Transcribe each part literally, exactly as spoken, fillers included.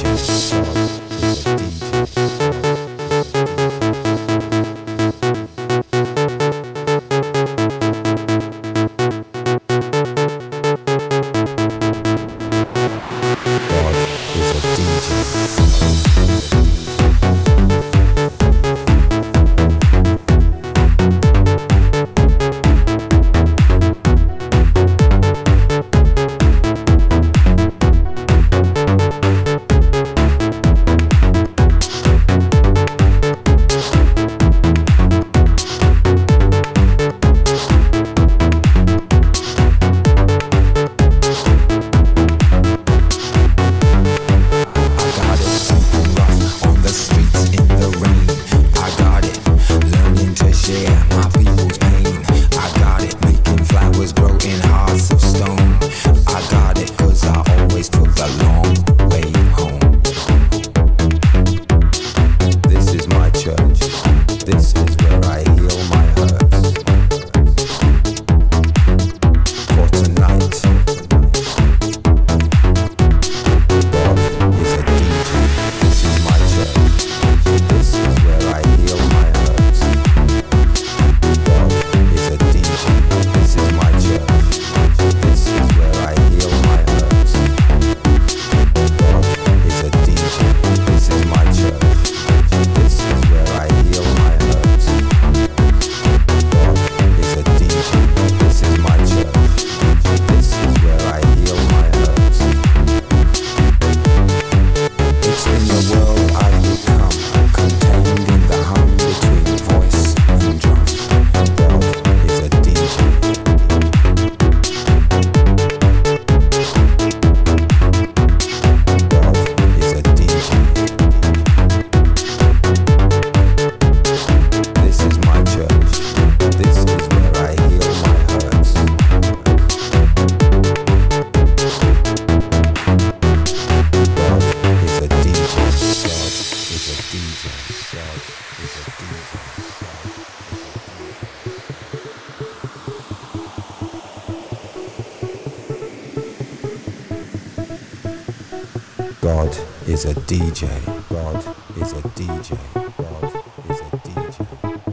God is a D J. God is a D J. God is a D J.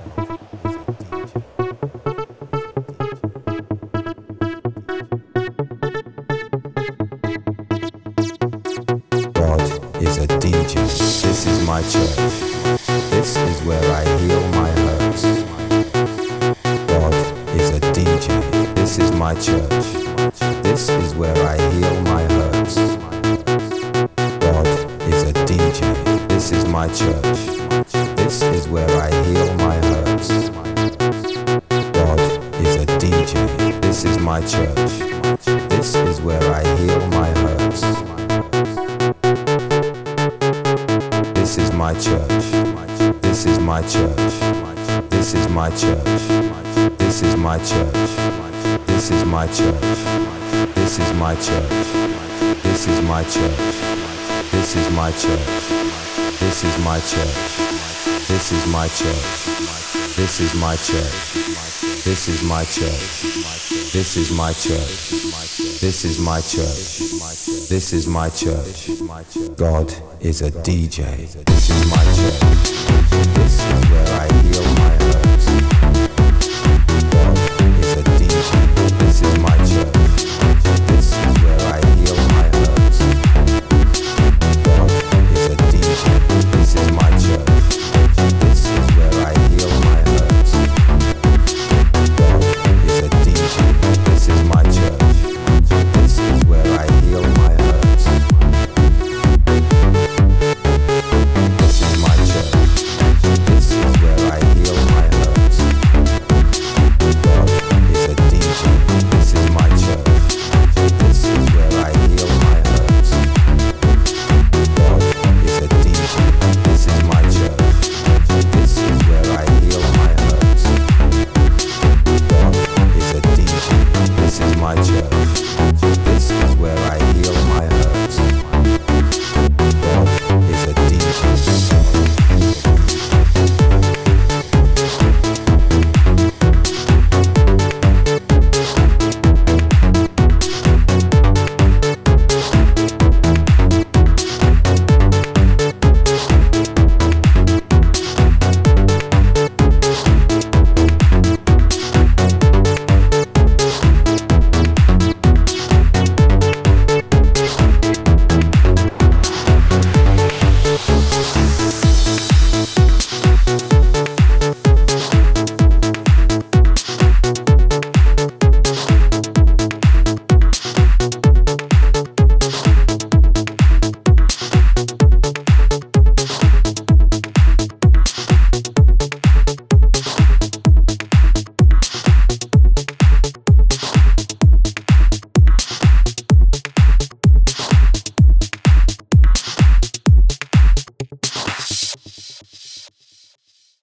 God is a D J. This is my church. This is where I heal my hurts. God is a D J. This is my church. This is where I heal my hurts. God is a D J. This is my church. This is where I heal my hurts. God is a D J. This is my church. This is where I heal my hurts. This is my church. This is my church. This is my church. This is my church. This is my church. This is my church. This is my church. This is my church. This is my church. This is my church. This is my church. This is my church. This is my church. This is my church. This is my church. God is a D J. This is my church. This is where I heal my